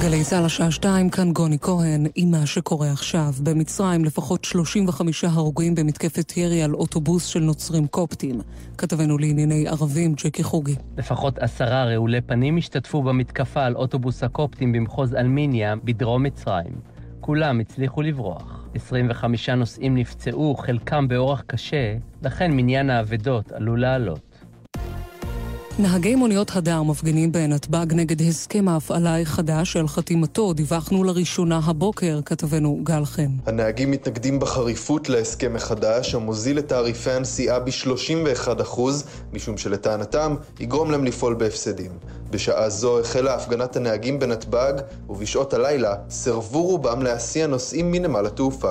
גלי צה"ל השעה 2, כאן גוני כהן עם מה שקורה עכשיו. במצרים לפחות 35 הרוגים במתקפת ירי על אוטובוס של נוצרים קופטים. כתבנו לענייני ערבים ג'קי חוגי. לפחות 10 רעולי פנים השתתפו במתקפה על אוטובוס הקופטים במחוז אלמיניה בדרום מצרים. כולם הצליחו לברוח. 25 נוסעים נפצעו, חלקם באורח קשה, לכן מניין האבדות עלול לעלות. נהגי מוניות הדר מפגינים בנתב"ג נגד הסכם ההפעלה החדש של חתימתו. דיווחנו לראשונה הבוקר, כתבנו גל חן. הנהגים מתנגדים בחריפות להסכם החדש המוזיל את תעריפי הנסיעה ב-31%, משום שלטענתם יגרום להם לפעול בהפסדים. בשעה זו החלה הפגנת הנהגים בנתב"ג, ובשעות הלילה סרבו רובם להסיע נוסעים מנמל התעופה.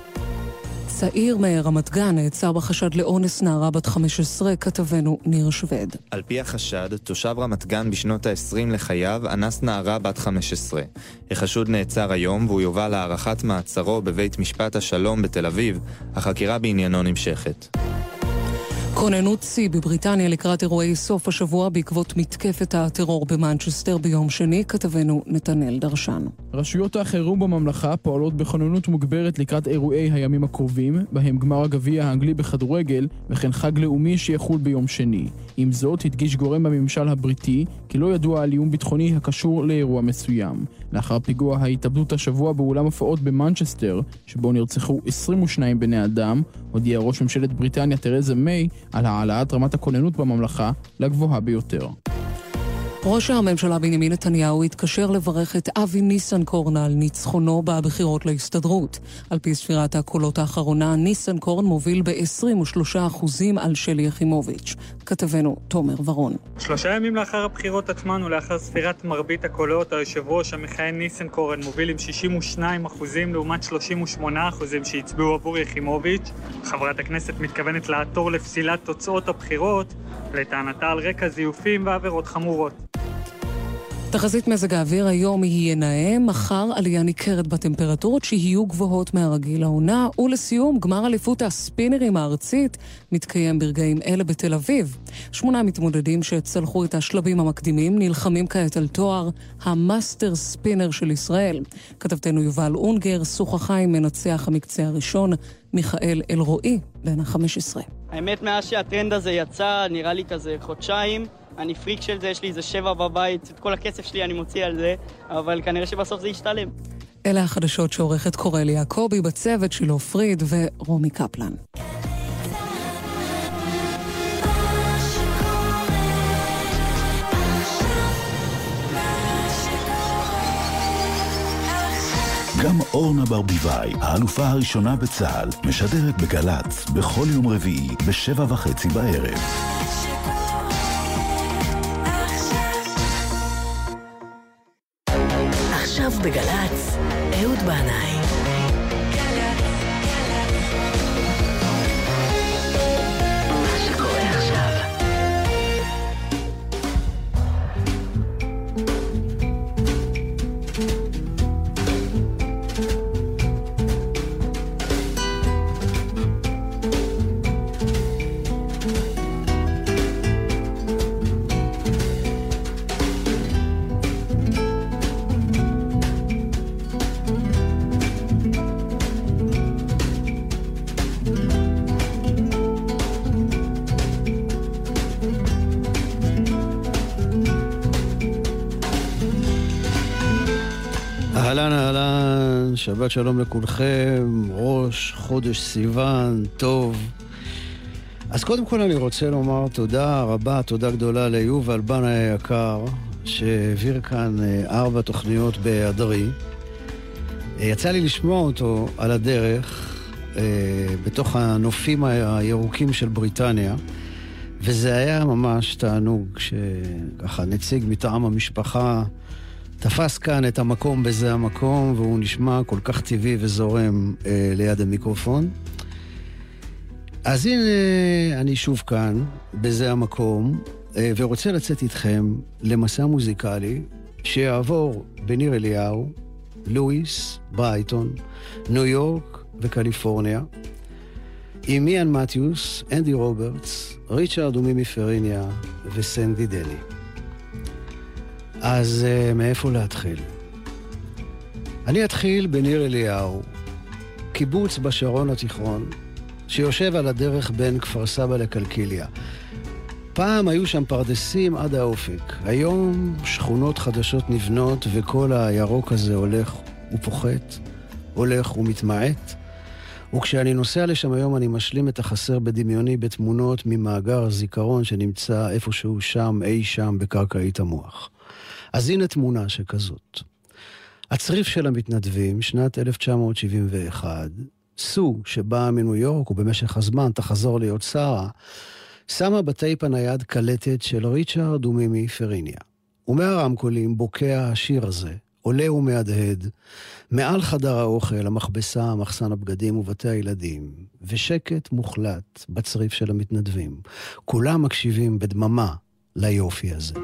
צעיר מרמת גן נעצר בחשד לאונס נערה בת 15, כתבנו ניר שווד. על פי החשד, תושב רמת גן בשנות ה-20 לחייו אנס נערה בת 15. החשוד נעצר היום והוא יובא להארכת מעצרו בבית משפט השלום בתל אביב. החקירה בעניינו נמשכת. כוננות שיא בבריטניה לקראת אירועי סוף השבוע בעקבות מתקפת הטרור במנצ'סטר ביום שני, כתבנו נתנאל דרשן. רשויות החירום בממלכה פועלות בכוננות מוגברת לקראת אירועי הימים הקרובים, בהם גמר הגביע האנגלי בכדורגל וכן חג לאומי שיחול ביום שני. עם זאת, הדגיש גורם בממשל הבריטי כי לא ידוע על איום ביטחוני הקשור לאירוע מסוים. לאחר פיגוע ההתאבדות השבוע באולם הופעות במנצ'סטר, שבו נרצחו 22 בני אדם, הודיע ראש ממשלת בריטניה תרזה מיי על העלאת רמת הכוננות בממלכה לגבוהה ביותר. ראש הממשלה בנימין נתניהו התקשר לברך את אבי ניסנקורן על ניצחונו בבחירות להסתדרות. על פי ספירת הקולות האחרונה, ניסנקורן מוביל ב-23% על שלי יחימוביץ'. כתבנו תומר ורון. 3 ימים לאחר הבחירות עצמן ולאחר ספירת מרבית הקולות, היושב ראש המכהן ניסנקורן מוביל עם 62% לעומת 38% שהצביעו עבור יחימוביץ'. חברת הכנסת מתכוונת לעתור לפסילת תוצאות הבחירות, לטענתה על רקע זיופים ועבירות חמורות. תחזית מזג האוויר היום יהיה נאה, מחר עלייה ניכרת בטמפרטורות שיהיו גבוהות מהרגיל העונה, ולסיום גמר אליפות הספינרים הארצית מתקיים ברגעים אלה בתל אביב. 8 מתמודדים שהצלחו את השלבים המקדימים נלחמים כעת על תואר המאסטר ספינר של ישראל. כתבתנו יובל אונגר שוחחה עם מנצח המקצה הראשון מיכאל אלרועי בן 15. האמת מאז שהטרנד הזה יצא נראה לי כזה חודשיים, אני פריק של זה, יש לי איזה 7 בבית, את כל הכסף שלי אני מוציא על זה, אבל כנראה שבסוף זה ישתלם. אלה החדשות שעורכת קורל יעקובי, בצוות שלו פריד ורומי קפלן. גם אורנה ברביבאי, האלופה הראשונה בצה"ל, משדרת בגלץ בכל יום רביעי ב7:30 בערב. עכשיו בגלץ, אהוד בנאי. מה שקורה עכשיו. אהלן, שבת שלום לכולכם, ראש חודש סיוון, טוב. אז קודם כל אני רוצה לומר תודה רבה, תודה גדולה ליובל בנאי היקר, שהעביר כאן 4 תוכניות בהדרי. יצא לי לשמוע אותו על הדרך, בתוך הנופים הירוקים של בריטניה, וזה היה ממש תענוג שככה נציג מטעם המשפחה תפס כאן את המקום בזה המקום, והוא נשמע כל כך טבעי וזורם ליד המיקרופון. אז הנה אני שוב כאן בזה המקום, ורוצה לצאת איתכם למסע מוזיקלי שיעבור בניר אליהו, לואיס, ברייטון, ניו יורק וקליפורניה, עם מיאן מתיוס, אנדי רוברטס, ריצ'רד ומימי פריניה וסנדי דני. אז מאיפה להתחיל? אני אתחיל בניר אליהו, קיבוץ בשרון התיכון, שיושב על הדרך בין כפר סבא לקלקיליה. פעם היו שם פרדסים עד האופק. היום שכונות חדשות נבנות וכל הירוק הזה הולך ופוחת, הולך ומתמעט. וכשאני נוסע לשם היום אני משלים את החסר בדמיוני בתמונות ממאגר הזיכרון שנמצא איפשהו שם, אי שם בקרקעית המוח. אז הנה תמונה שכזאת. הצריף של המתנדבים, שנת 1971, סו שבאה מניו יורק ובמשך הזמן תחזור להיות שרה, שמה בטייפ הנייד קלטת של ריצ'רד ומימי פריניה. ומהרמקולים בוקע השיר הזה, עולה ומהדהד, מעל חדר האוכל, המכבסה, מחסן הבגדים ובתי הילדים, ושקט מוחלט בצריף של המתנדבים. כולם מקשיבים בדממה ליופי הזה.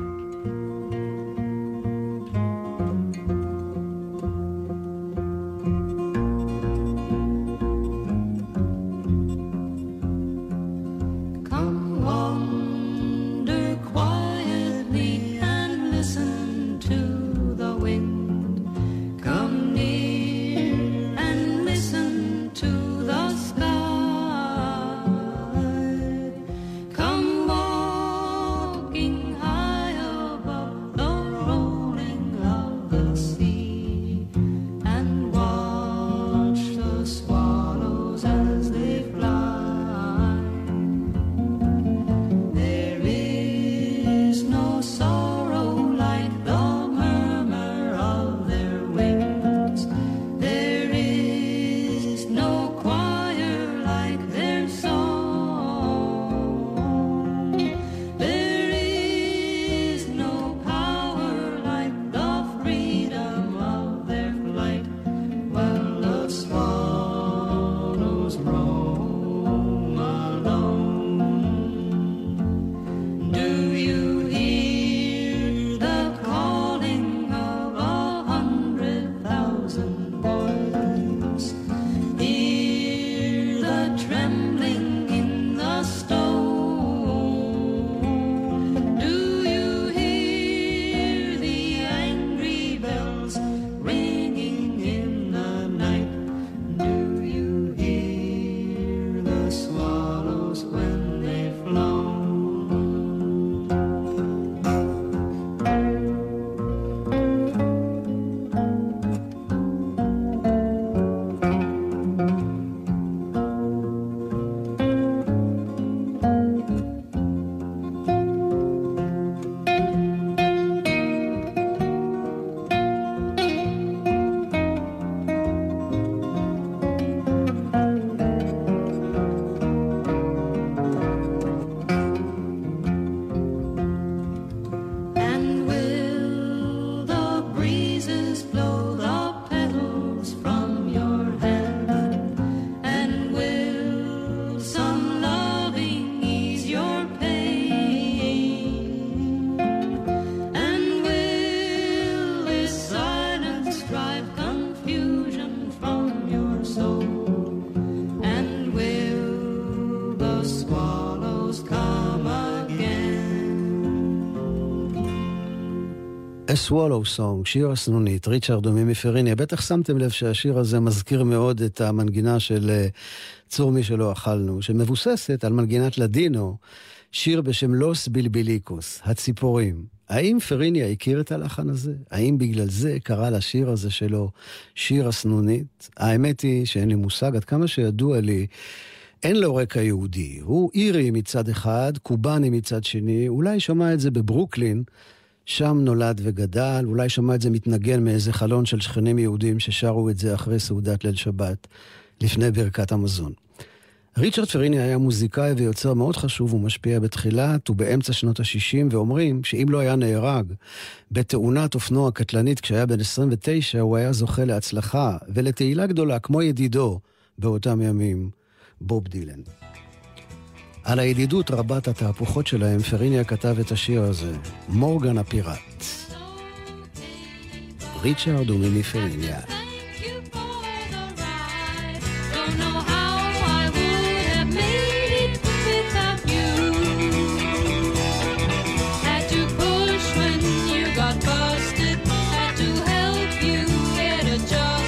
A Swallow Song, שיר הסנונית, ריצ'רד ומימי פריניה. בטח שמתם לב שהשיר הזה מזכיר מאוד את המנגינה של צור מי שלא אכלנו, שמבוססת על מנגינת לדינו, שיר בשם לוס בילביליקוס, הציפורים. האם פריניה הכיר את הלחן הזה? האם בגלל זה קרא לשיר הזה שלו שיר הסנונית? האמת היא שאין לי מושג, עד כמה שידוע לי, אין לו רקע יהודי. הוא אירי מצד אחד, קובני מצד שני, אולי שמע את זה בברוקלין, שם נולד וגדל, אולי שמע את זה מתנגן מאיזה חלון של שכנים יהודים ששרו את זה אחרי סעודת ליל שבת, לפני ברכת המזון. ריצ'רד פריניה היה מוזיקאי ויוצר מאוד חשוב ומשפיע בתחילת ובאמצע שנות ה-60, ואומרים שאם לא היה נהרג בתאונת אופנוע קטלנית כשהיה בן 29, הוא היה זוכה להצלחה ולתהילה גדולה כמו ידידו באותם ימים, בוב דילן. על הידידות רבת התהפוכות שלהם, פריניה כתב את השיר הזה, מורגן הפיראט. ריצ'רד ומימי פריניה. Job.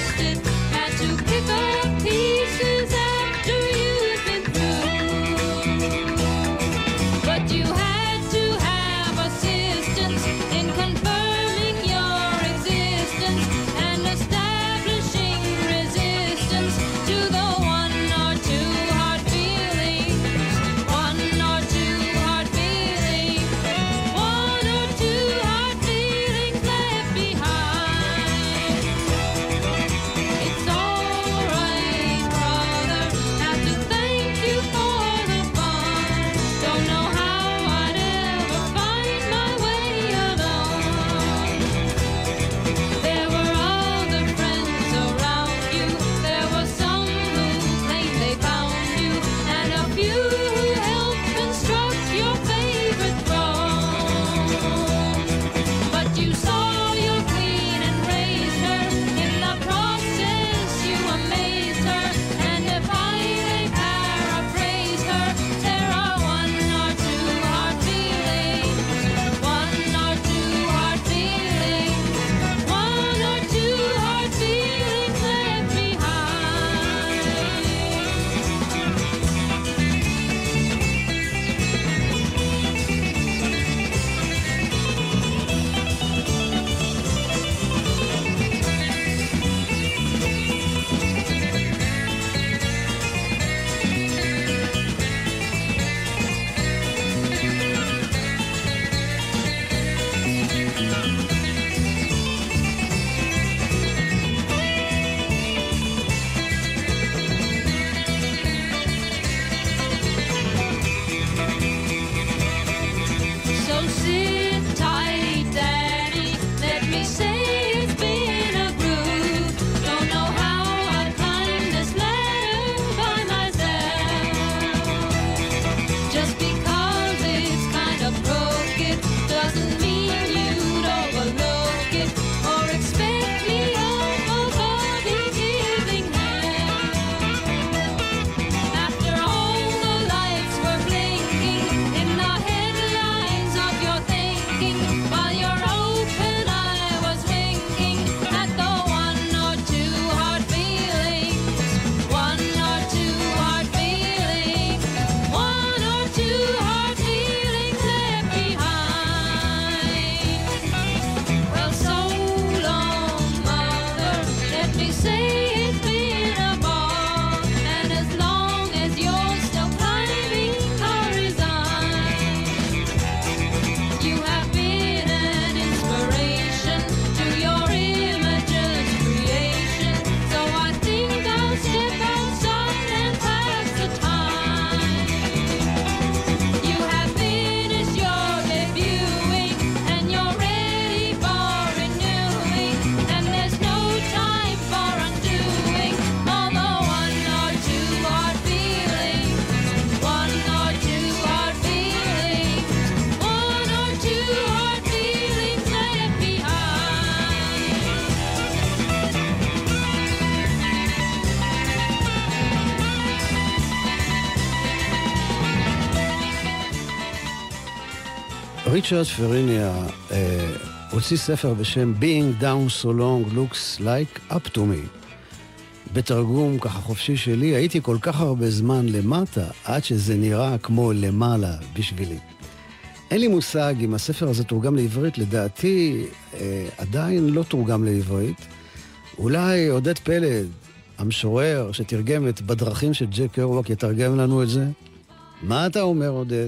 ריצ'רד פריניה הוציא ספר בשם Being Down So Long Looks Like Up To Me. בתרגום ככה חופשי שלי, הייתי כל כך הרבה זמן למטה, עד שזה נראה כמו למעלה בשבילי. אין לי מושג אם הספר הזה תורגם לעברית, לדעתי עדיין לא תורגם לעברית. אולי עודד פלד, המשורר שתרגם את בדרכים של ג'ק קרואק, יתרגם לנו את זה. מה אתה אומר, עודד?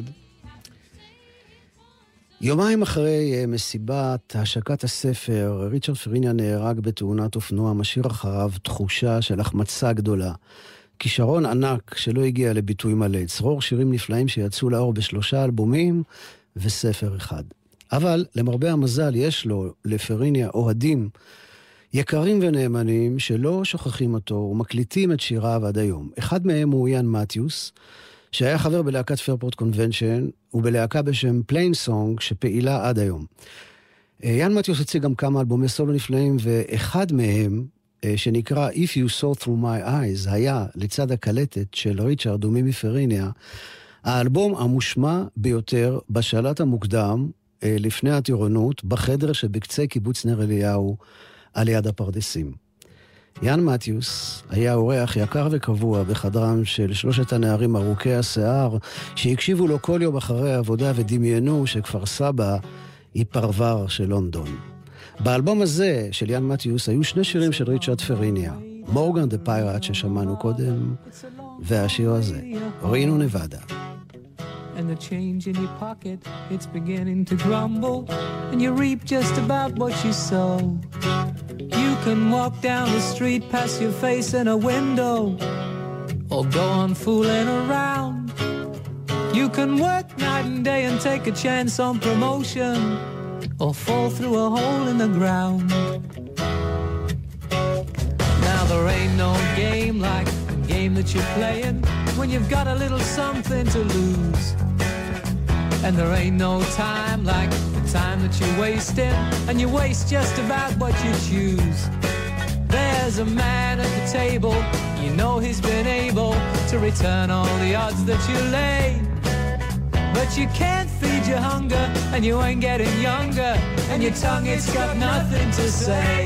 יומיים אחרי מסיבת השקת הספר, ריצ'רד פריניה נהרג בתאונת אופנוע, משאיר אחריו תחושה של החמצה גדולה. כישרון ענק שלא הגיע לביטוי מלא, צרור שירים נפלאים שיצאו לאור ב3 אלבומים וספר אחד. אבל למרבה המזל יש לו, לפריניה, אוהדים יקרים ונאמנים שלא שוכחים אותו ומקליטים את שיריו עד היום. אחד מהם הוא יאן מתיוס, שהיה חבר בלהקת פיירפורט קונבנשן, ובלהקה בשם פליין סונג, שפעילה עד היום. יאן מתיוס הציג גם כמה אלבומי סולו נפלאים, ואחד מהם, שנקרא If You Saw Through My Eyes, היה לצד הקלטת של ריצ'רד ומימי פריניה, האלבום המושמע ביותר בשלט המוקדם, לפני הטירונות, בחדר שבקצה קיבוץ נר אליהו, על יד הפרדסים. יאן מתיוס היה אורח יקר וקבוע בחדרם של 3 הנערים ארוכי השיער, שהקשיבו לו כל יום אחרי העבודה ודמיינו שכפר סבא היא פרבר של לונדון. באלבום הזה של יאן מתיוס היו 2 שירים של ריצ'רד פריניה, מורגן דה פיירט ששמענו קודם, והשיר הזה, רינו נבדה. And the change in your pocket, it's beginning to grumble, and you reap just about what you sow. You can walk down the street, pass your face in a window, or go on fooling around. You can work night and day and take a chance on promotion, or fall through a hole in the ground. Now there ain't no game like the game that you're playing when you've got a little something to lose. And there ain't no time like the time that you're wasting, and you waste just about what you choose. There's a man at the table, you know he's been able to return all the odds that you lay. But you can't feed your hunger, and you ain't getting younger, and your tongue, it's got nothing to say.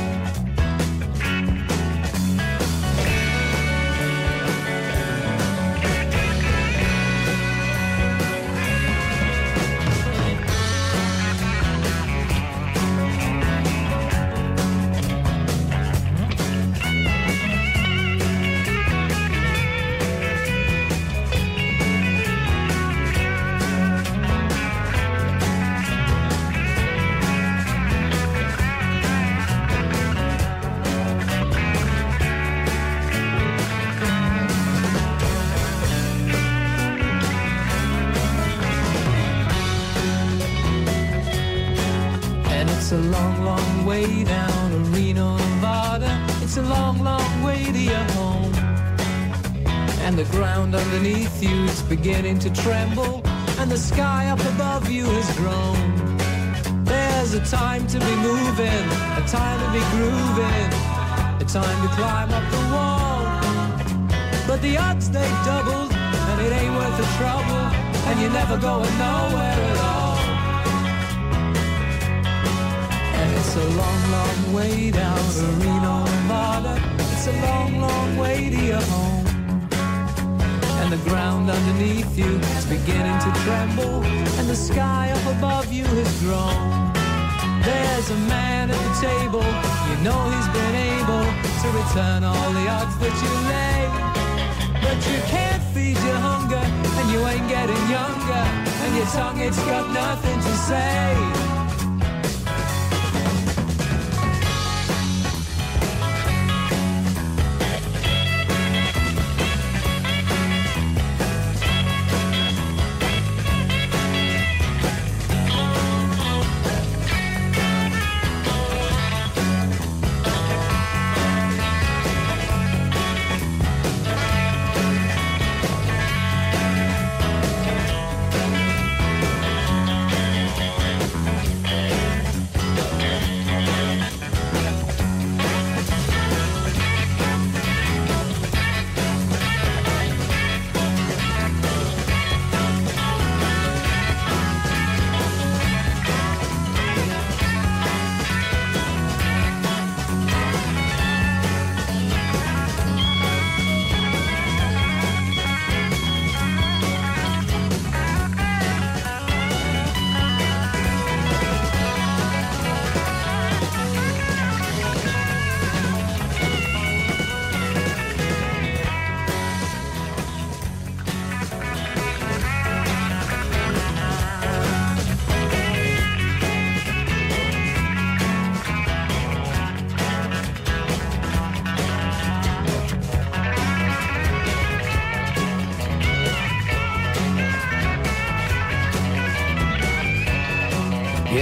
It's a long, long way down to Reno, Nevada. It's a long, long way to your home. And the ground underneath you is beginning to tremble, and the sky up above you has grown. There's a time to be moving, a time to be grooving, a time to climb up the wall. But the odds, they've doubled, and it ain't worth the trouble, and you're never going nowhere at all. It's a long, long way down to Reno, Nevada. It's a long, long way to your home. And the ground underneath you is beginning to tremble, and the sky up above you has grown. There's a man at the table, you know he's been able to return all the odds that you lay. But you can't feed your hunger, and you ain't getting younger, and your tongue, it's got nothing to say.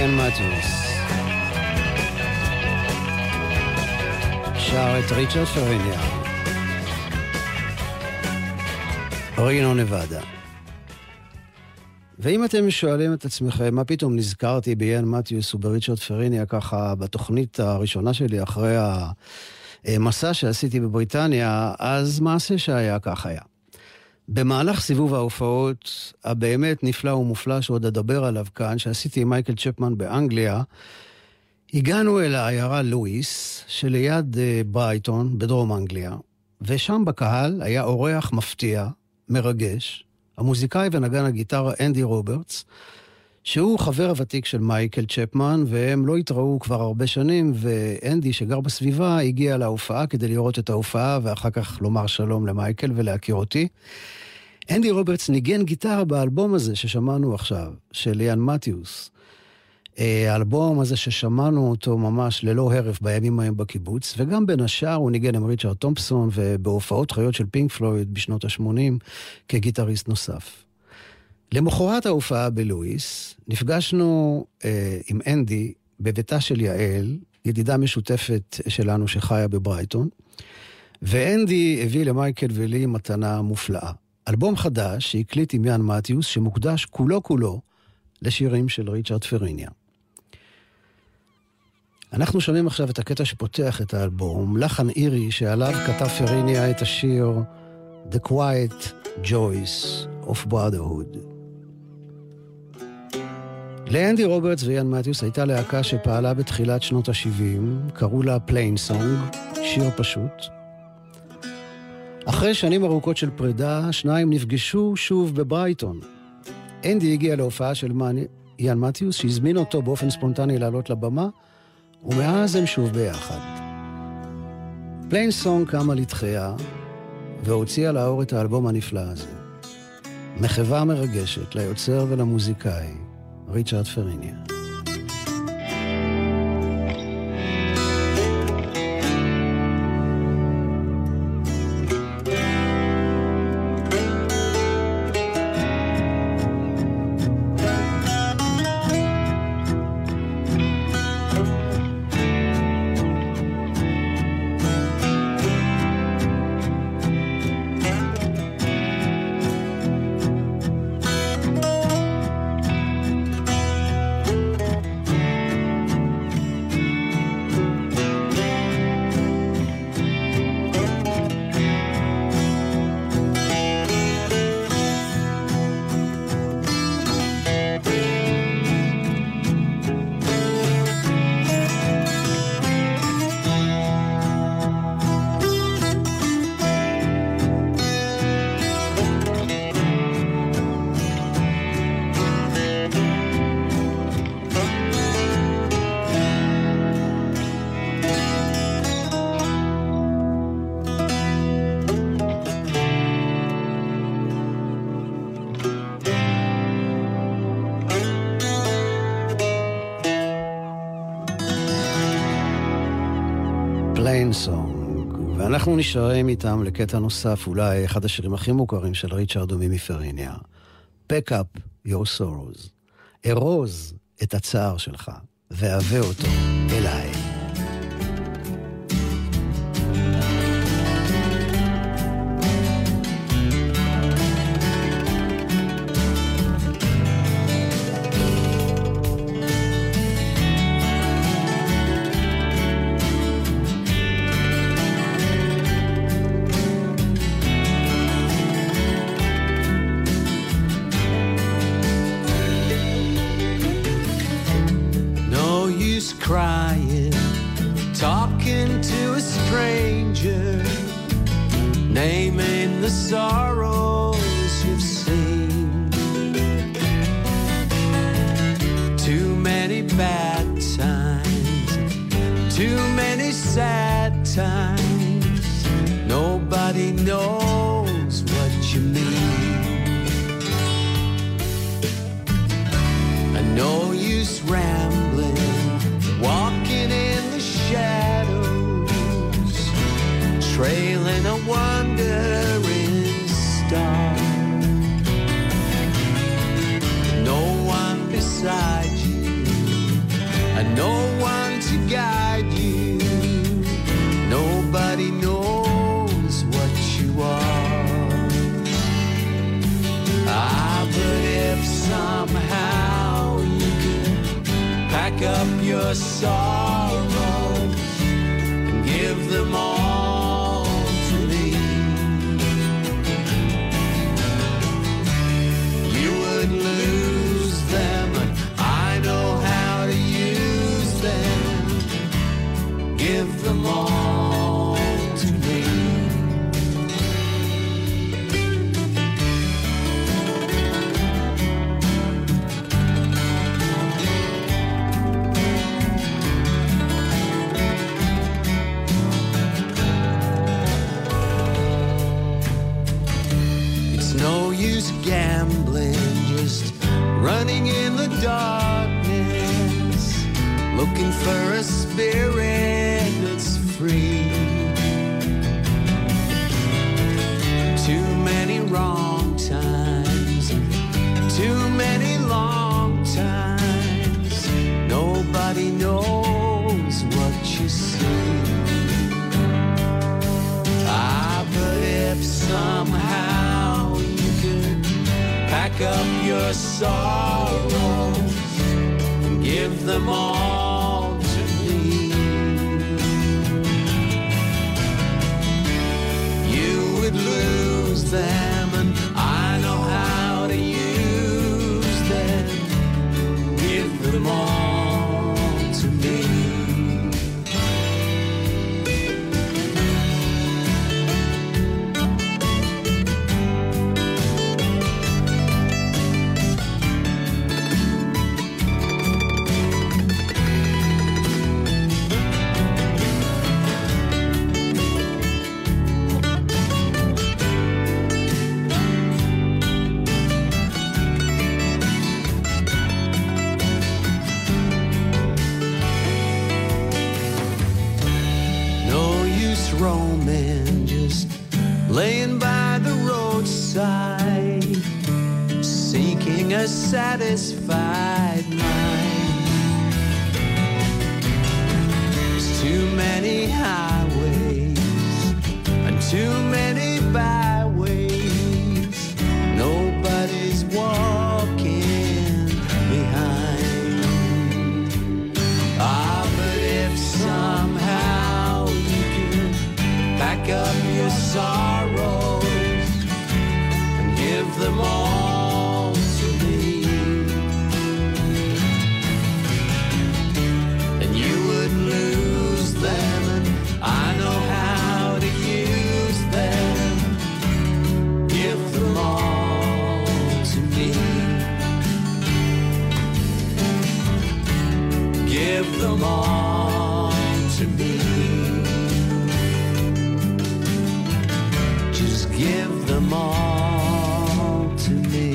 איאן מתיוס. שר את ריצ'רד פריניה. רינו נבדה. ואם אתם שואלים את עצמכם, מה פתאום נזכרתי באיאן מתיוס ובריצ'רד פריניה ככה בתוכנית הראשונה שלי אחרי המסע שעשיתי בבריטניה, אז מעשה שהיה כך היה. במהלך סיבוב ההופעות הבאמת נפלא ומופלא שעוד אדבר עליו כאן, שעשיתי עם מייקל צ'פמן באנגליה, הגענו אל העיירה לואיס שליד ברייטון בדרום אנגליה, ושם בקהל היה אורח מפתיע, מרגש, המוזיקאי ונגן הגיטרה אנדי רוברטס, שהוא חבר הוותיק של מייקל צ'פמן, והם לא התראו כבר הרבה שנים, ואנדי שגר בסביבה הגיע להופעה כדי לראות את ההופעה, ואחר כך לומר שלום למייקל ולהכיר אותי. אנדי רוברטס ניגן גיטרה באלבום הזה ששמענו עכשיו, של איאן מתיוס. האלבום הזה ששמענו אותו ממש ללא הרף בימים ההם בקיבוץ, וגם בין השאר הוא ניגן עם ריצ'רד תומפסון, ובהופעות חיות של פינק פלויד בשנות ה-80 כגיטריסט נוסף. למחרת ההופעה בלואיס, נפגשנו עם אנדי בביתה של יעל, ידידה משותפת שלנו שחיה בברייטון, ואנדי הביא למייקל ולי מתנה מופלאה. אלבום חדש שהקליט עם איאן מתיוס, שמוקדש כולו לשירים של ריצ'רד פריניה. אנחנו שומעים עכשיו את הקטע שפותח את האלבום, לחן אירי שעליו כתב פריניה את השיר The Quiet Joys of Brotherhood. לאנדי רוברטס ואיאן מתיוס הייתה להקה שפעלה בתחילת שנות ה-70, קראו לה פליין סונג, שיר פשוט. אחרי שנים ארוכות של פרידה, שניים נפגשו שוב בברייטון. אנדי הגיע להופעה של איאן מתיוס, שהזמין אותו באופן ספונטני לעלות לבמה, ומאז הם שוב ביחד. פליין סונג קמה לתחייה, והוציאה לאור את האלבום הנפלא הזה. מחווה מרגשת ליוצר ולמוזיקאי, ריצ'רד פריניה. ואנחנו נשארים איתם לקטע נוסף, אולי אחד השירים הכי מוכרים של ריצ'רד ומימי פריניה. Pack up your sorrows. ארוז את הצער שלך, והבא אותו אליי. no one to guide you. Nobody knows what you are. But if somehow you could pack up your sorrows and give them all to me, you would lose them, and I know how to use them. Give them all to me. It's no use gambling, just running in the darkness, looking for a spirit that's free. Too many wrong times, too many long times. Nobody knows what you see. But if somehow you could pack up your sorrows and give them all to me, you would lose them, and I know how to use them. Give them all to me. Roaming, just laying by the roadside, seeking a satisfied mind. There's too many highways and too many byways. Nobody's walking behind. But if somehow pack up your sorrows and give them all to me, and you would lose them, and I know how to use them. Give them all to me. Give them all to me. Give them all to me.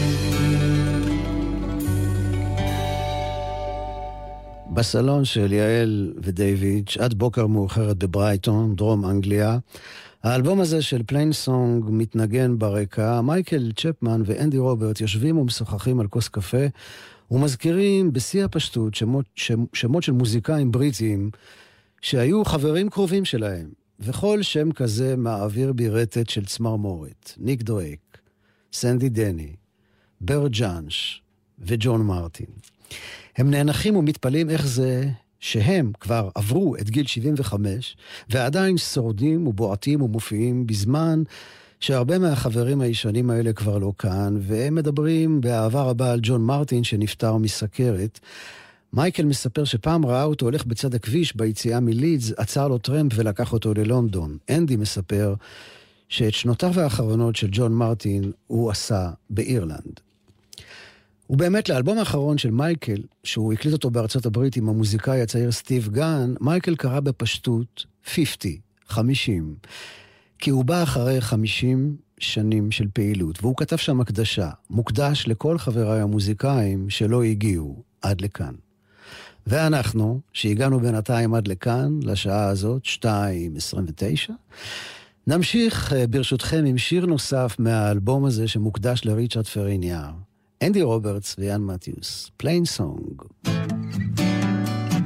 בסלון של יעל ודייוויד, שעת בוקר מאוחרת בברייטון, דרום אנגליה. האלבום הזה של פליין סונג מתנגן ברקע. מייקל צ'פמן ואנדי רוברט יושבים ומשוחחים על כוס קפה ומזכירים בשיא הפשטות שמות של מוזיקאים בריטיים שהיו חברים קרובים שלהם. וכל שם כזה מעביר בירטת של צמרמורת. ניק דרייק, סנדי דני, בר ג'אנש וג'ון מרטין. הם נאנחים ומתפלאים איך זה שהם כבר עברו את גיל 75 ועדיין שורדים ובועטים ומופיעים בזמן שהרבה מהחברים הישנים האלה כבר לא כאן, והם מדברים באהבה רבה על ג'ון מרטין שנפטר מסכרת. מייקל מספר שפעם ראה אותו הולך בצד הכביש ביציאה מלידס, עצר לו טרמפ ולקח אותו ללונדון. אנדי מספר שאת שנותיו האחרונות של ג'ון מרטין הוא עשה באירלנד. ובאמת לאלבום האחרון של מייקל, שהוא הקליט אותו בארצות הברית עם המוזיקאי הצעיר סטיב גן, מייקל קרא בפשטות 50, כי הוא בא אחרי 50 שנים של פעילות, והוא כתב שם הקדשה, מוקדש לכל חבריי המוזיקאים שלא הגיעו עד לכאן. ואנחנו, שהגענו בינתיים עד לכאן, לשעה הזאת, 2:29, נמשיך ברשותכם עם שיר נוסף מהאלבום הזה שמוקדש לריצ'רד פריניאר. אנדי רוברטס ויאן מתיוס, פליין סונג.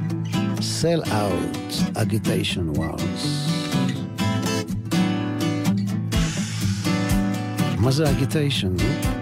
Sell Out, Agitation Wars. מה זה אגיטיישן?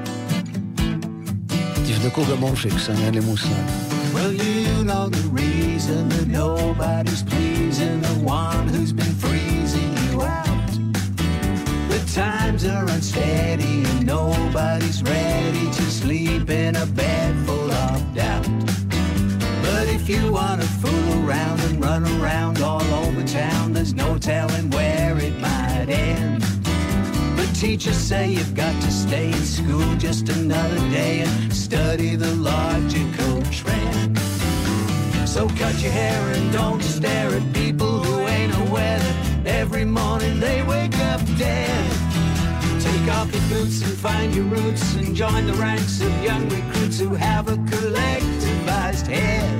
תבדקו במורפיקס, אני אין לי מושג. Well, you know the reason that nobody's pleasing the one who's been freezing you out. The times are unsteady and nobody's ready to sleep in a bed full of doubt. But if you want to fool around and run around all over town, there's no telling where it might end. But teachers say you've got to stay in school just another day and study the logical trend. So cut your hair and don't stare at people who ain't aware that every morning they wake up dead. Take off your boots and find your roots and join the ranks of young recruits who have a collectivized head.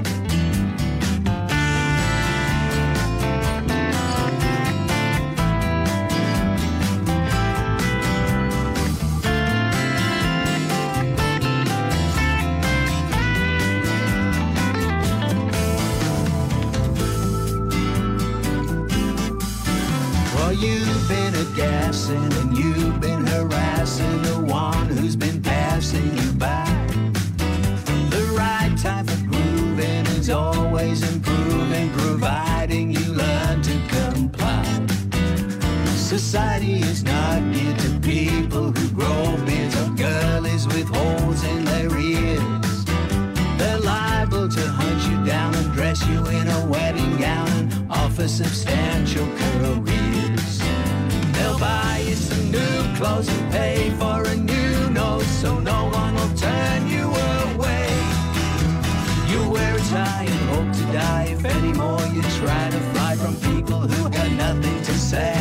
You've been a gassing and you've been harassing the one who's been passing you by. The right time for grooving is always improving, providing you learn to comply. Society is not geared to people who grow beards or girlies with holes in their ears. They're liable to hunt you down and dress you in a wedding gown and offer substantial careers. They'll buy you some new clothes and pay for a new nose so no one will turn you away. You wear a tie and hope to die if anymore you try to fly from people who got nothing to say.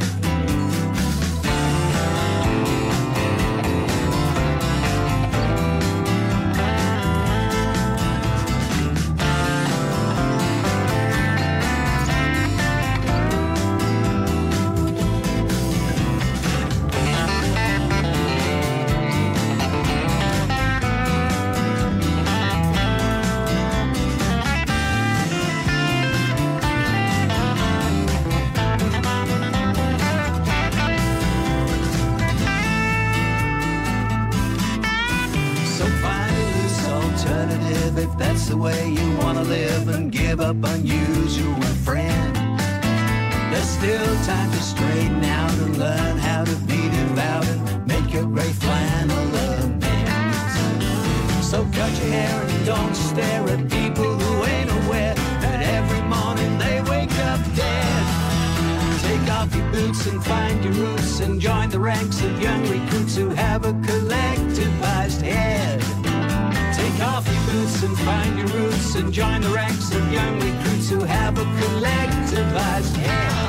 If that's the way you want to live and give up unusual friend, there's still time to straighten out and learn how to be devout and make your gray flannel amends. So cut your hair and don't stare at people who ain't aware that every morning they wake up dead. Take off your boots and find your roots and join the ranks of young recruits who have a collectivized head. Take off your boots and find your roots and join the ranks of young recruits who have a collectivized head.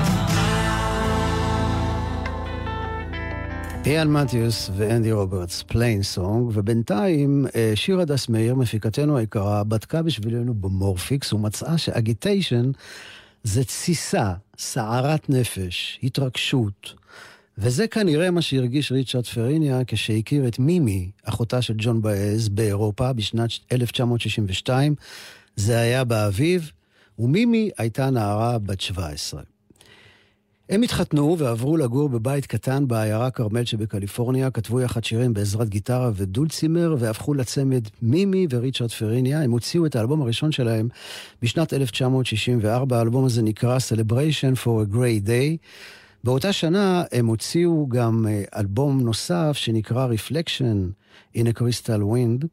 איאן מתיוס ואנדי רוברטס, פליין סונג, ובינתיים שירה דס מאיר, מפיקתנו היקרה, בדקה בשבילנו במורפיקס ומצאה שאגיטיישן זה תסיסה, סערת נפש, התרגשות. וזה כנראה מה שהרגיש ריצ'רד פריניה כשהכיר את מימי, אחותה של ג'ון באז, באירופה בשנת 1962. זה היה באביב, ומימי הייתה נערה בת 17. הם התחתנו ועברו לגור בבית קטן בעיירה קרמל שבקליפורניה, כתבו יחד שירים בעזרת גיטרה ודולצימר, והפכו לצמד מימי וריצ'רד פריניה. הם הוציאו את האלבום הראשון שלהם בשנת 1964, האלבום הזה נקרא Celebration for a Great Day. באותה שנה הם הוציאו גם אלבום נוסף שנקרא Reflection in a Crystal Wind,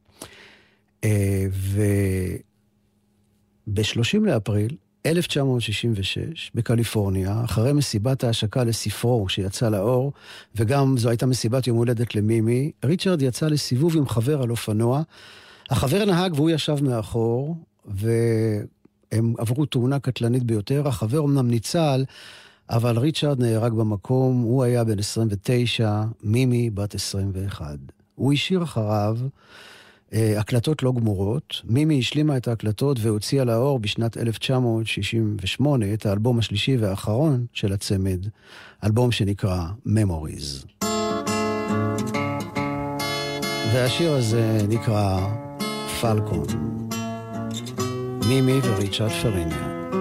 וב-30 לאפריל 1966 בקליפורניה, אחרי מסיבת ההשקה לספרו שיצא לאור, וגם זו הייתה מסיבת יום הולדת למימי, ריצ'רד יצא לסיבוב עם חבר על אופנוע. החבר נהג והוא ישב מאחור, והם עברו תאונה קטלנית ביותר. החבר אמנם ניצל, אבל ריצ'רד נהרג במקום. הוא היה בן 29, מימי בת 21. הוא השאיר אחריו הקלטות לא גמורות. מימי השלימה את ההקלטות והוציאה לאור בשנת 1968 את האלבום השלישי והאחרון של הצמד, אלבום שנקרא Memories. והשיר הזה נקרא פלקון. מימי וריצ'רד פריניה.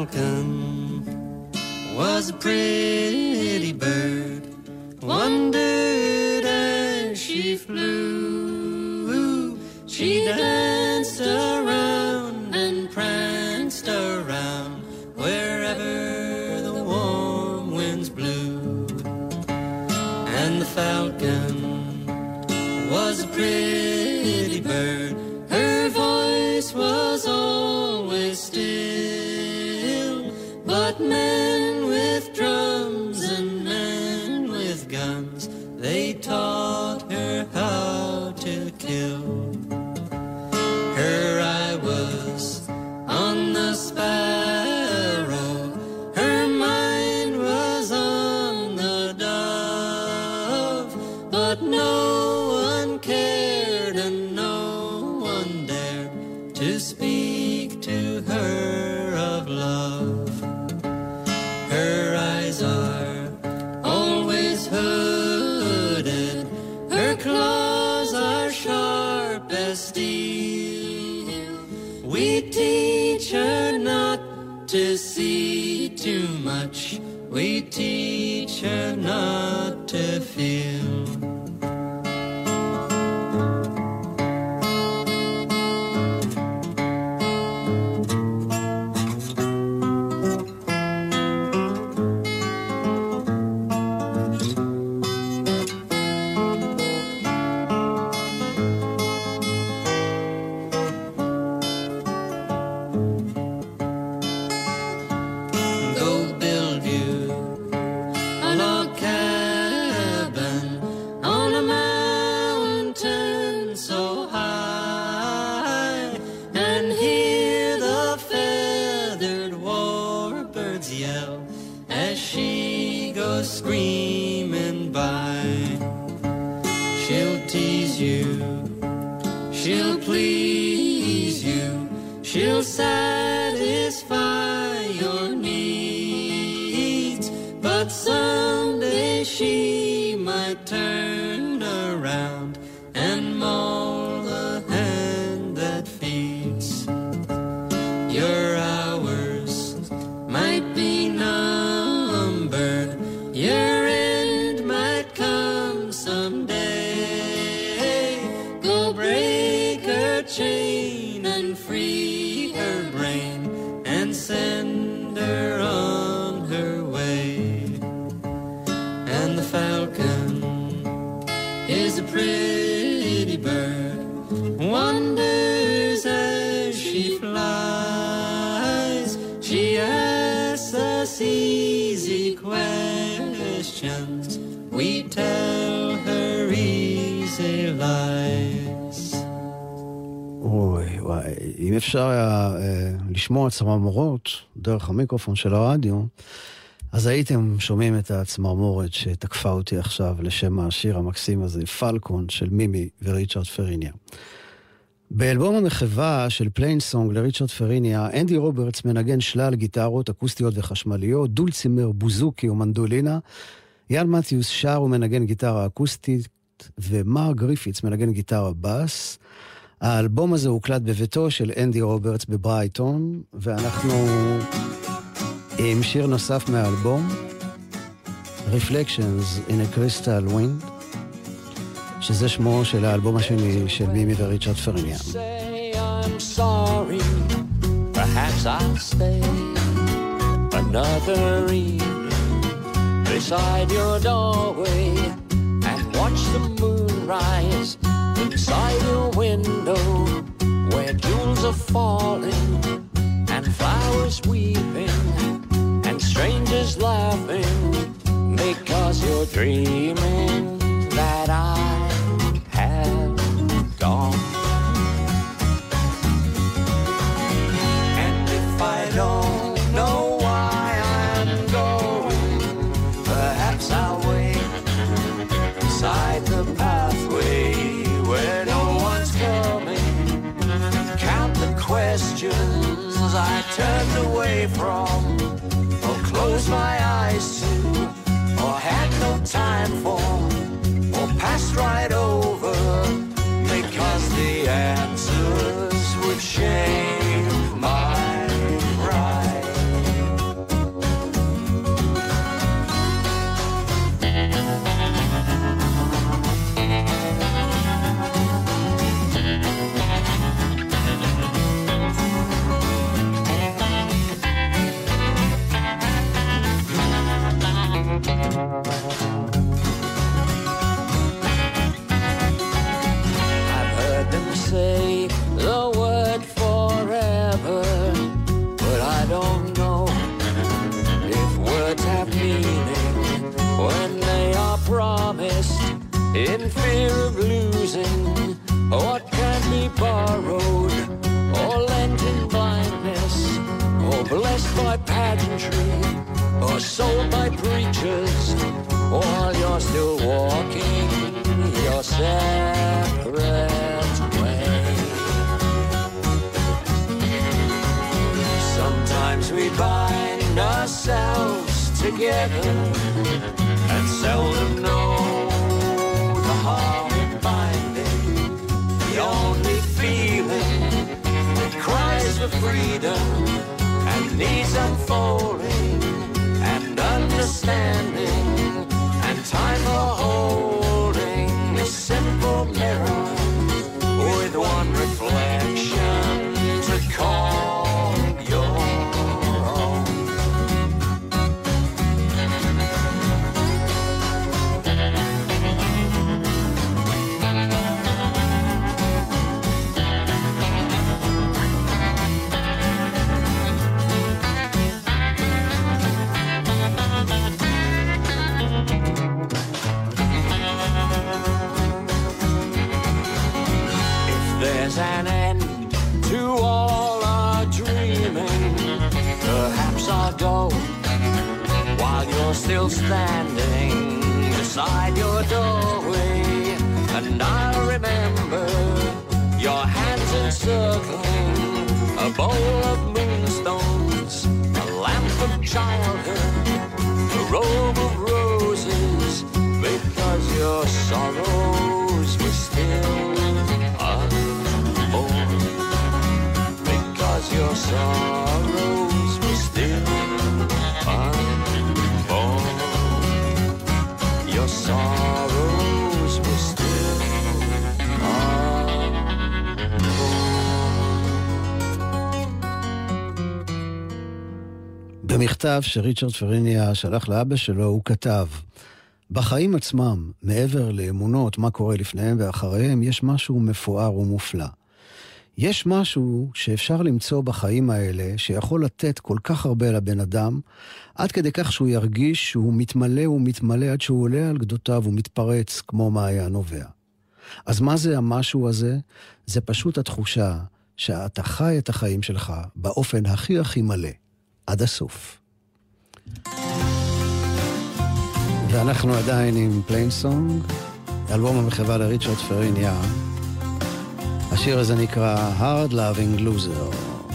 falcon was a pretty bird, wondered as she flew. She danced around and pranced around wherever the warm winds blew. And the falcon was a pretty bird, her voice was always still, but men with drums and men with guns, they taught her how to kill. Her eye was on the sparrow, her mind was on the dove, but no one cared and no one dared to speak to her of love. Her eyes are always hooded, her claws are sharp as steel. We teach her not to see too much, we teach her not to feel. אם אפשר היה לשמוע צמרמורות דרך המיקרופון של הרדיו, אז הייתם שומעים את הצמרמורת שתקפה אותי עכשיו לשם השיר המקסים הזה, פלקון של מימי וריצ'רד פריניה. באלבום המחווה של פליינסונג לריצ'רד פריניה, אנדי רוברטס מנגן שלל גיטרות אקוסטיות וחשמליות, דולצימר, בוזוקי ומנדולינה, יאן מתיוס שר ומנגן גיטרה אקוסטית, ומר גריפיץ מנגן גיטרה בס. האלבום הזה הוקלט בביתו של אנדי רוברטס בברייטון, ואנחנו עם שיר נוסף מהאלבום, Reflections in a Crystal Wind, שזה שמו של האלבום השני של מימי וריצ'רד פריניה. I'm sorry, perhaps I'll stay another evening beside your doorway and watch the moon rise inside your window where jewels are falling and flowers weeping and strangers laughing because you're dreaming that I have gone. And if I don't know why I'm going, perhaps I'll wait beside the pathway where no one's coming. Count the questions I turned away from, or closed my eyes to, or had no time for, or passed right over, because the answers would shame my pride. country or sold by preachers while you're still walking your separate way. Sometimes we bind ourselves together and seldom know the harm in binding. The only feeling that cries for freedom and needs unfolding and understanding and time for holding a simple mirror with one reflection to call your own. There's an end to all our dreaming. Perhaps I'll go while you're still standing beside your doorway, and I'll remember your hands encircling a bowl of moonstones, a lamp of childhood, a robe of roses, because your sorrows were still unborn, because your sorrows were still unborn, your sorrows were still unborn. במכתב שריצ'רד פריניה שלח לאבא שלו הוא כתב: בחיים עצמם, מעבר לאמונות, מה קורה לפניהם ואחריהם, יש משהו מפואר ומופלא. יש משהו שאפשר למצוא בחיים האלה, שיכול לתת כל כך הרבה לבן אדם, עד כדי כך שהוא ירגיש שהוא מתמלא ומתמלא עד שהוא עולה על גדותיו ומתפרץ כמו מעיין נובע. אז מה זה המשהו הזה? זה פשוט התחושה שאתה חי את החיים שלך באופן הכי הכי מלא, עד הסוף. ואנחנו עדיין עם פליינסונג, אלבום המחווה לריצ'רד פריניה. השיר הזה נקרא Hard Loving Loser.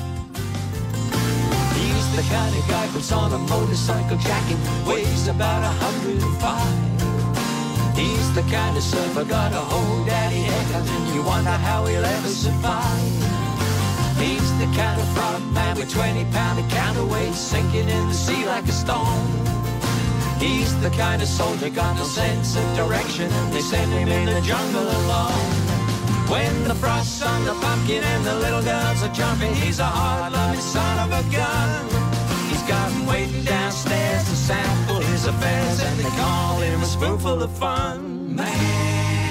He's the kind of guy puts on a motorcycle jacket, weighs about 105. He's the kind of surfer got a whole daddy haircut, and you wonder how he'll ever survive. He's the kind of front man with 20-pound counterweight sinking in the sea like a stone. He's the kind of soldier got no sense of direction, and they send him in the jungle alone. When the frost's on the pumpkin and the little girls are jumping, he's a hard-loving son of a gun. He's got him waiting downstairs to sample his affairs, and they call him a spoonful of fun. Man,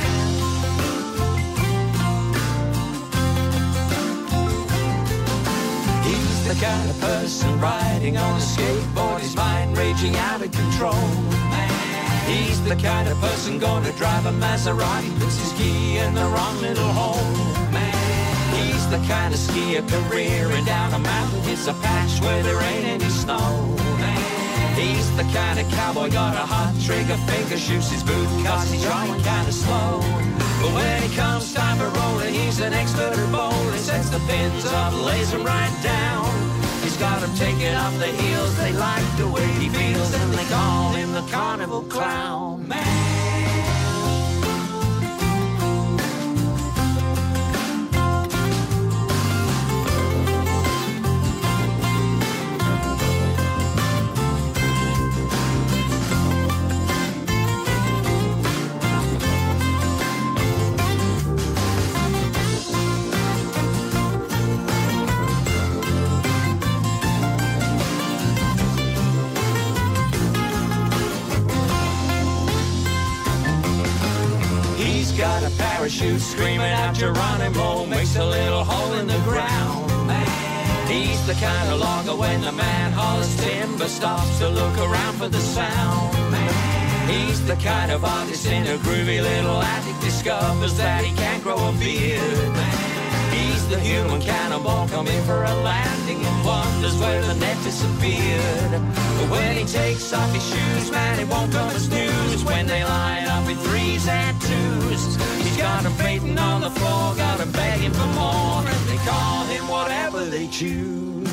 he's the kind of person riding on a skateboard, his mind raging out of control. He's the kind of person gonna drive a Maserati, puts his key in the wrong little hole. He's the kind of skier careering down a mountain, hits a patch where there ain't any snow. He's the kind of cowboy got a hot trigger finger, shoots his boot cause he's drawing kind of slow. But when it comes time for rolling, he's an expert at bowling, sets the pins up, lays them right down. He's got him taking off the heels, they like the way he feels, and they call him the carnival clown. Man, got a parachute screaming out Geronimo, makes a little hole in the ground. He's the kind of logger when the man hollers timber stops to look around for the sound. He's the kind of artist in a groovy little attic discovers that he can't grow a beard. He's the human cannonball coming for a landing and wonders where the net disappeared. But when he takes off his shoes, man, it won't come as news. When they line up in threes and twos, he's got him fainting on the floor, got him begging for more, and they call him whatever they choose.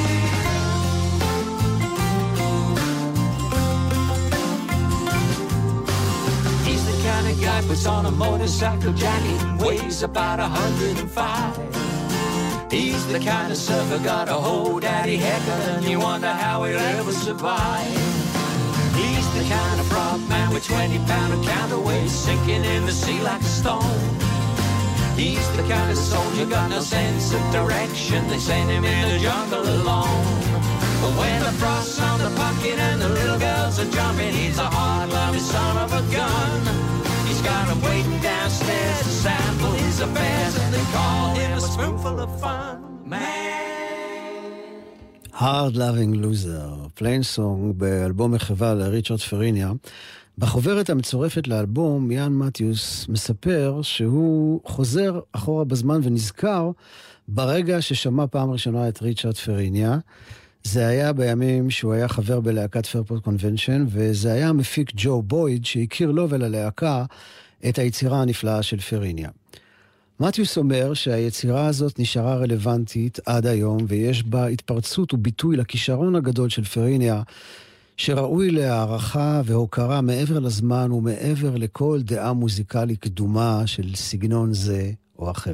He's the kind of guy puts on a motorcycle jacket, weighs about 105. He's the kind of surfer got a whole daddy hecker, and you wonder how he'll ever survive. He's the kind of frog man with 20-pound of counterweight sinking in the sea like a stone. He's the kind of soldier got no sense of direction, they send him in the jungle alone. But when the frost's on the pumpkin and the little girls are jumping, he's a hard-loving son of a gun. He's got him waiting downstairs to sample his affairs, and they call him a spoonful of fun, man. Hard Loving Loser, פליינסונג באלבום מחווה לריצ'רד פריניה. בחוברת המצורפת לאלבום, יאן מתיוס מספר שהוא חוזר אחורה בזמן ונזכר ברגע ששמע פעם ראשונה את ריצ'רד פריניה. זה היה בימים שהוא היה חבר בלהקת פרפורט קונבנשן, וזה היה המפיק ג'ו בויד שהכיר לו וללהקה את היצירה הנפלאה של פריניה. מתיוס אומר שהיצירה הזאת נשארה רלוונטית עד היום, ויש בה התפרצות וביטוי לכישרון הגדול של פריניה, שראוי להערכה והוקרה מעבר לזמן ומעבר לכל דעה מוזיקלית קדומה של סגנון זה או אחר.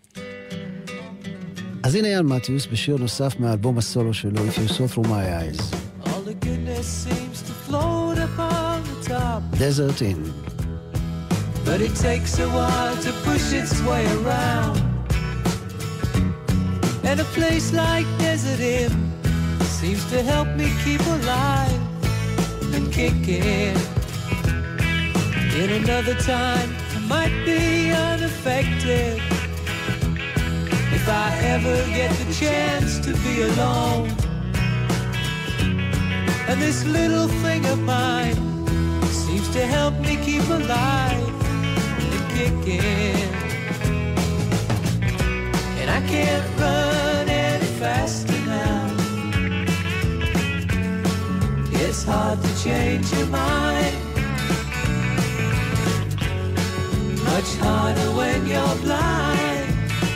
אז הנה יאן מתיוס בשיר נוסף מהאלבום הסולו שלו, If You Saw Through My Eyes. All the goodness seems to float upon the top. Desert Inn. But it takes a while to push its way around. And a place like Desert Inn seems to help me keep alive and kicking. In another time I might be unaffected if I ever get the chance to be alone. And this little thing of mine seems to help me keep alive and kicking. And I can't run any faster now. It's hard to change your mind, much harder when you're blind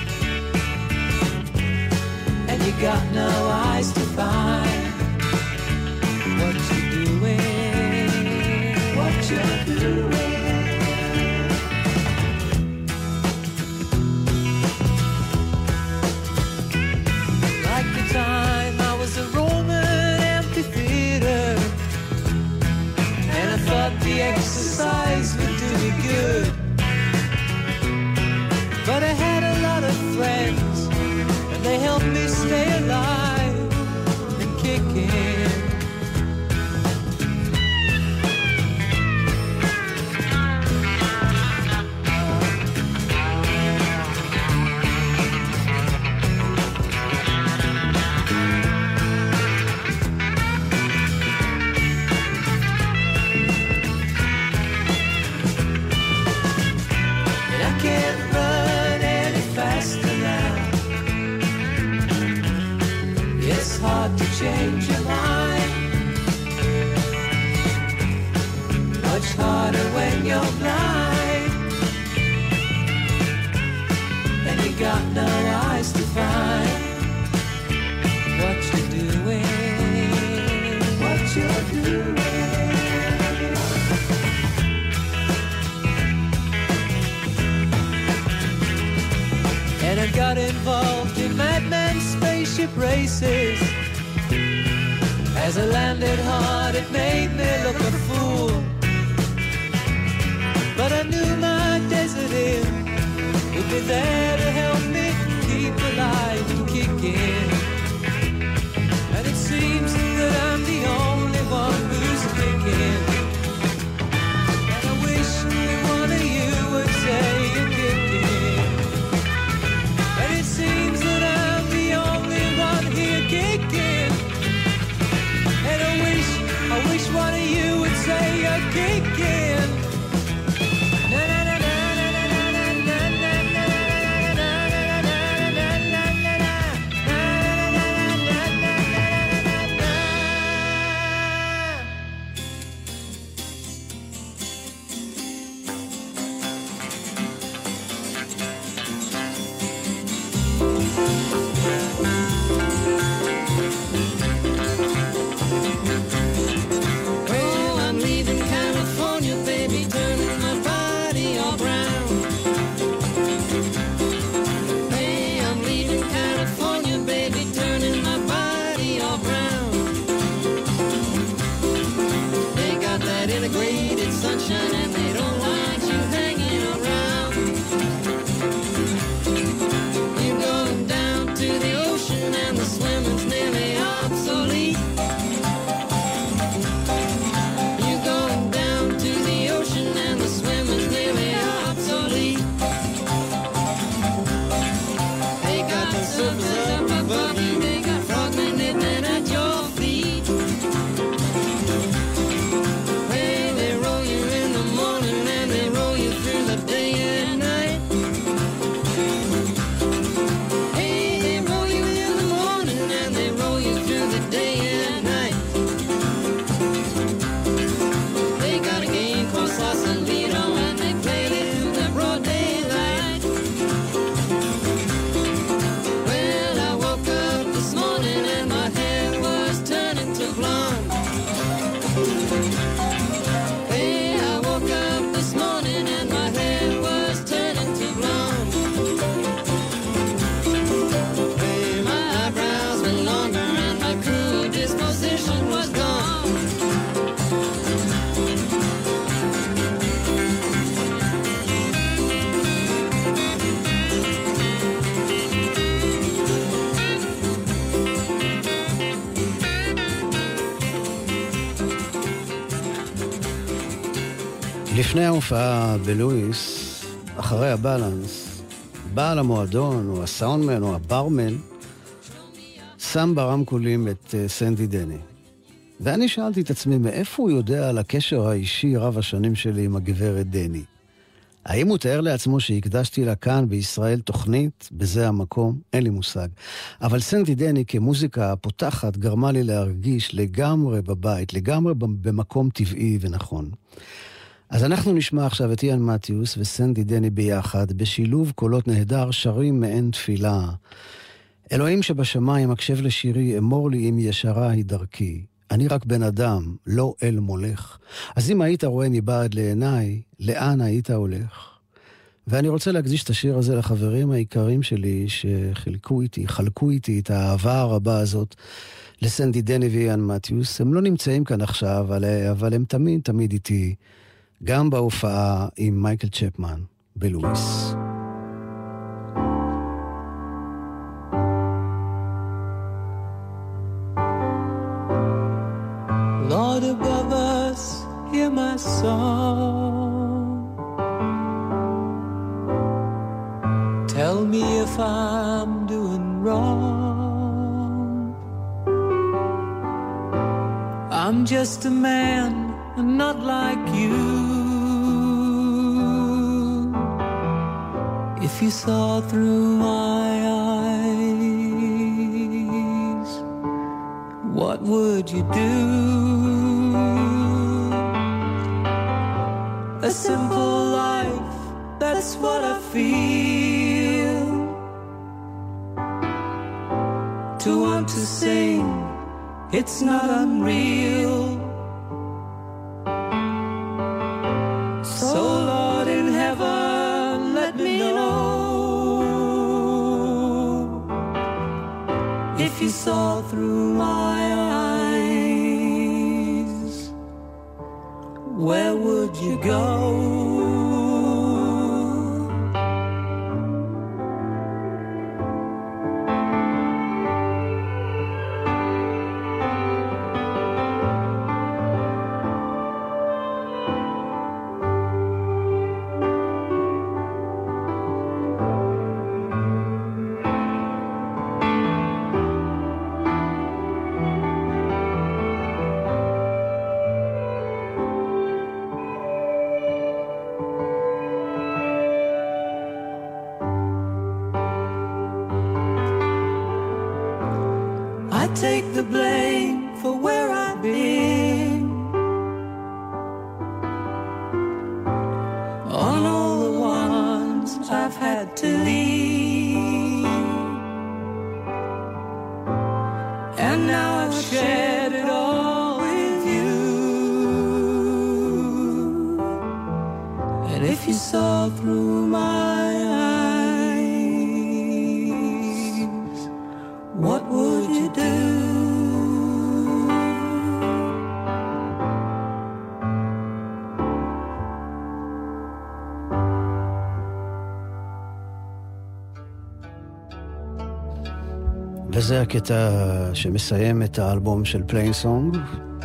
and you got no eyes to find what you're doing, what you're doing. Like the time I was a Roman amphitheater, and I thought the exercise would do me good. But I had a lot of friends, and they helped me stay alive and kicking. Change your mind, much harder when you're blind and you got no eyes to find what you're doing, what you're doing. And I got involved in madman spaceship races. As I landed hard, it made me look a fool. But I knew my Desert Inn would be there to help me keep alive and kicking. And it seems that I'm the only one who's kicking. And I wish that one of you would say you're kicking. And it seems that I'm the only one here kicking. And I wish one of you would say you're kicking. Na na na na na na na na na na na na לפני ההופעה בלואיס, אחרי הבלנס, בעל המועדון או הסאונדמן או הברמן שם ברמקולים את סנדי דני. ואני שאלתי את עצמי מאיפה הוא יודע על הקשר האישי רב השנים שלי עם הגברת דני. האם הוא תאר לעצמו שהקדשתי לה כאן בישראל תוכנית בזה המקום? אין לי מושג. אבל סנדי דני כמוזיקה פותחת גרמה לי להרגיש לגמרי בבית, לגמרי במקום טבעי ונכון. אז אנחנו נשמע עכשיו את איאן מתיוס וסנדי דני ביחד, בשילוב קולות נהדר שרים מעין תפילה. אלוהים שבשמיים הקשב לשירי, אמור לי אם ישרה היא דרכי. אני רק בן אדם, לא אל מולך. אז אם היית רואה מבעד לעיניי, לאן היית הולך? ואני רוצה להקדיש את השיר הזה לחברים העיקרים שלי חלקו איתי את האהבה הרבה הזאת לסנדי דני ואיאן מתיוס. הם לא נמצאים כאן עכשיו, אבל הם תמיד איתי, גם בהופעה עם מייקל צ'פמן בלואיס. Lord above us, hear my song. Tell me if I'm doing wrong. I'm just a man, not like you. If you saw through my eyes, what would you do? A simple life, that's what I feel. To want to sing, it's not unreal. So Lord in heaven, let me know if you saw through my eyes, where would you go? Take the blame for where I've been, on all the ones I've had to leave, and now I've shared it all with you. And if you saw through my eyes, what would you do? וזה הקטע שמסיים את האלבום של פליין סונג,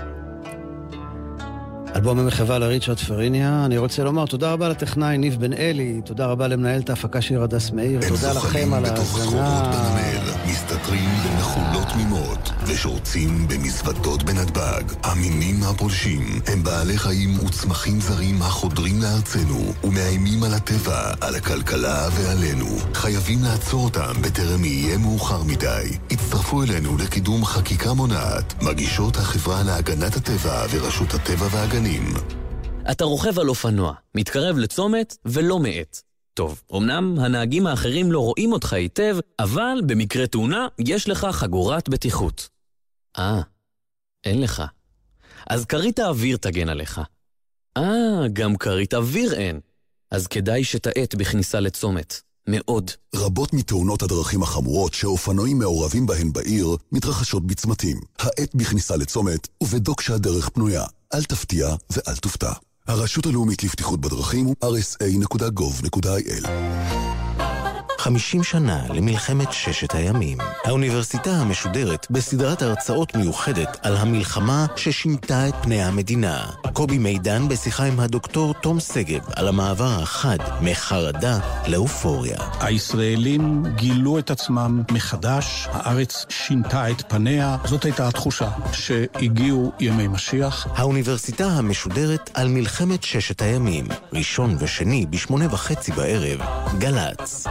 אלבום המחווה לריצ'רד פריניה. אני רוצה לומר תודה רבה לטכנאי ניב בן אלי, תודה רבה למנהלת ההפקה שיר הדס מאיר, תודה לכם על ההאזנה. מסתתרים במחולות תמימות ושורצים במזוודות בנתב"ג. המינים הפולשים הם בעלי חיים וצמחים זרים החודרים לארצנו ומאיימים על הטבע, על הכלכלה ועלינו. חייבים לעצור אותם בטרם יהיה מאוחר מדי. הצטרפו אלינו לקידום חקיקה מונעת, מגישות החברה להגנת הטבע ורשות הטבע והגנים. אתה רוכב על אופנוע, מתקרב לצומת ולא מעט. טוב, אמנם הנהגים האחרים לא רואים אותך היטב, אבל במקרה תאונה יש לך חגורת בטיחות. אין לך. אז כרית האוויר תגן עליך. גם כרית אוויר אין. אז כדאי שתעט בכניסה לצומת. מאוד. רבות מתאונות הדרכים החמורות שאופנועים מעורבים בהן בעיר מתרחשות בצמתים. העט בכניסה לצומת ובדוק שהדרך פנויה. אל תפתיע ואל תופתע. הרשות הלאומית לבטיחות בדרכים הוא rsa.gov.il. 50 שנה למלחמת ששת הימים. האוניברסיטה המשודרת בסדרת הרצאות מיוחדת על המלחמה ששינתה את פני המדינה. קובי מידן בשיחה עם הדוקטור תום סגב על המעבר החד מחרדה לאופוריה. הישראלים גילו את עצמם מחדש, הארץ שינתה את פניה, זאת הייתה התחושה שהגיעו ימי משיח. האוניברסיטה המשודרת על מלחמת ששת הימים, ראשון ושני ב8:30 בערב, גל"צ.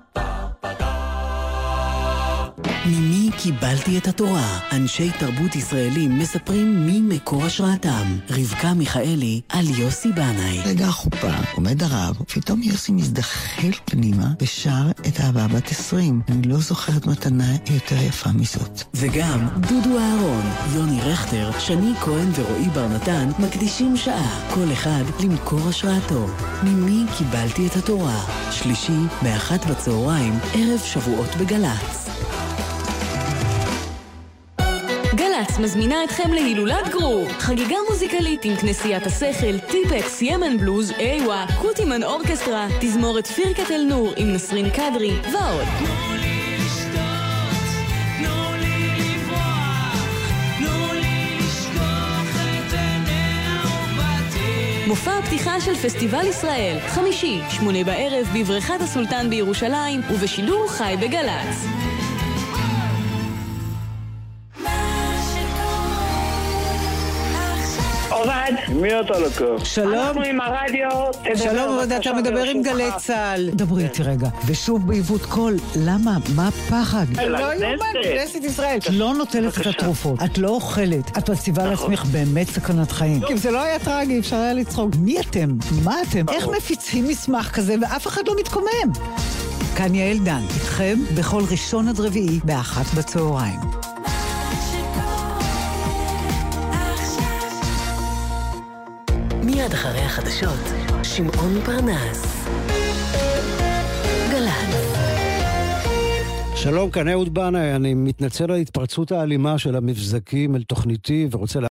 ממי קיבלתי את התורה? אנשי תרבות ישראלים מספרים מי מקור השראתם. רבקה מיכאלי על יוסי בנאי. רגע החופה, עומד הרב, פתאום יוסי מזדחל פנימה ושר את אהבה בת 20. אני לא זוכרת מתנה יותר יפה מזאת. וגם דודו אהרון, יוני רכטר, שני כהן ורועי בר נתן מקדישים שעה, כל אחד למקור השראתו. ממי קיבלתי את התורה? שלישי, ב13:00, ערב שבועות בגל"צ. גל"צ מזמינה אתכם להילולת גרוב, חגיגה מוזיקלית עם כנסיית השכל, טיפקס, ימן בלוז, איווה, קוטימן אורקסטרה, תזמורת פירקת אל נור עם נסרין קדרי ועוד. מופע הפתיחה של פסטיבל ישראל, חמישי, 8 בערב בבריכת הסולטן בירושלים ובשידור חי בגל"צ. עובד. מי אתה לקח? שלום. אנחנו עם הרדיו. שלום, עובד, אתה מדבר עם גלי צהל. דברי איתי רגע. ושוב בעיוות קול, למה? מה הפחד? לא יומן, כנסת ישראל. את לא נוטלת את התרופות, את לא אוכלת, את מציבה לעצמך באמת סכנת חיים. כי אם זה לא היה טרגי, אפשר היה לצחוק. מי אתם? מה אתם? איך מפיצים מסמך כזה ואף אחד לא מתקומם? כאן יעל דן, איתכם בכל ראשון עד רביעי ב13:00. מיד אחרי החדשות, שמעון פרנס. גל"צ. שלום, כאן אהוד בנאי, אני מתנצל על התפרצות האלימה של המבזקים אל תוכניתי ורוצה